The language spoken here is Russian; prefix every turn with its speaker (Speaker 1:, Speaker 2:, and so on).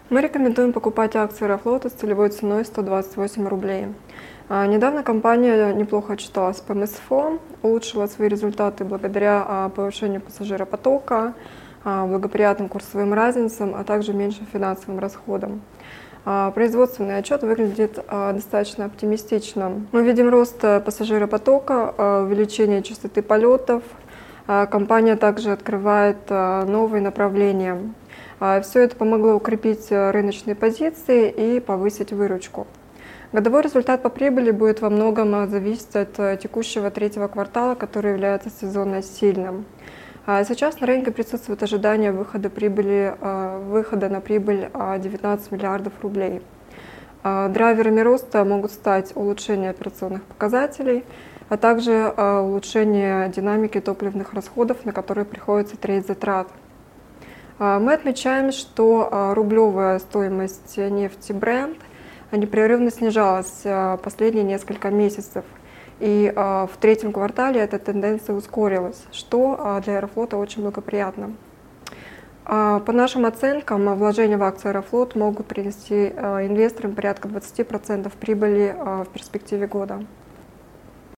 Speaker 1: Мы рекомендуем покупать акции Аэрофлота с целевой ценой 128 рублей. Недавно компания неплохо отчиталась по МСФО, улучшила свои результаты благодаря повышению пассажиропотока, благоприятным курсовым разницам, а также меньшим финансовым расходам. Производственный отчет выглядит достаточно оптимистично. Мы видим рост пассажиропотока, увеличение частоты полетов. Компания также открывает новые направления. Все это помогло укрепить рыночные позиции и повысить выручку. Годовой результат по прибыли будет во многом зависеть от текущего третьего квартала, который является сезонно сильным. Сейчас на рынке присутствует ожидание выхода на прибыль 19 миллиардов рублей. Драйверами роста могут стать улучшение операционных показателей, а также улучшение динамики топливных расходов, на которые приходится треть затрат. Мы отмечаем, что рублевая стоимость нефти Brent непрерывно снижалась последние несколько месяцев. И в третьем квартале эта тенденция ускорилась, что для Аэрофлота очень благоприятно. По нашим оценкам, вложения в акции Аэрофлот могут принести инвесторам порядка 20% прибыли в перспективе года.